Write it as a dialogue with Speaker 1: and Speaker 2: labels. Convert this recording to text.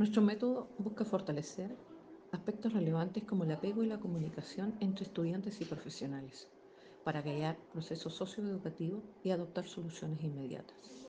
Speaker 1: Nuestro método busca fortalecer aspectos relevantes como el apego y la comunicación entre estudiantes y profesionales, para guiar procesos socioeducativos y adoptar soluciones inmediatas.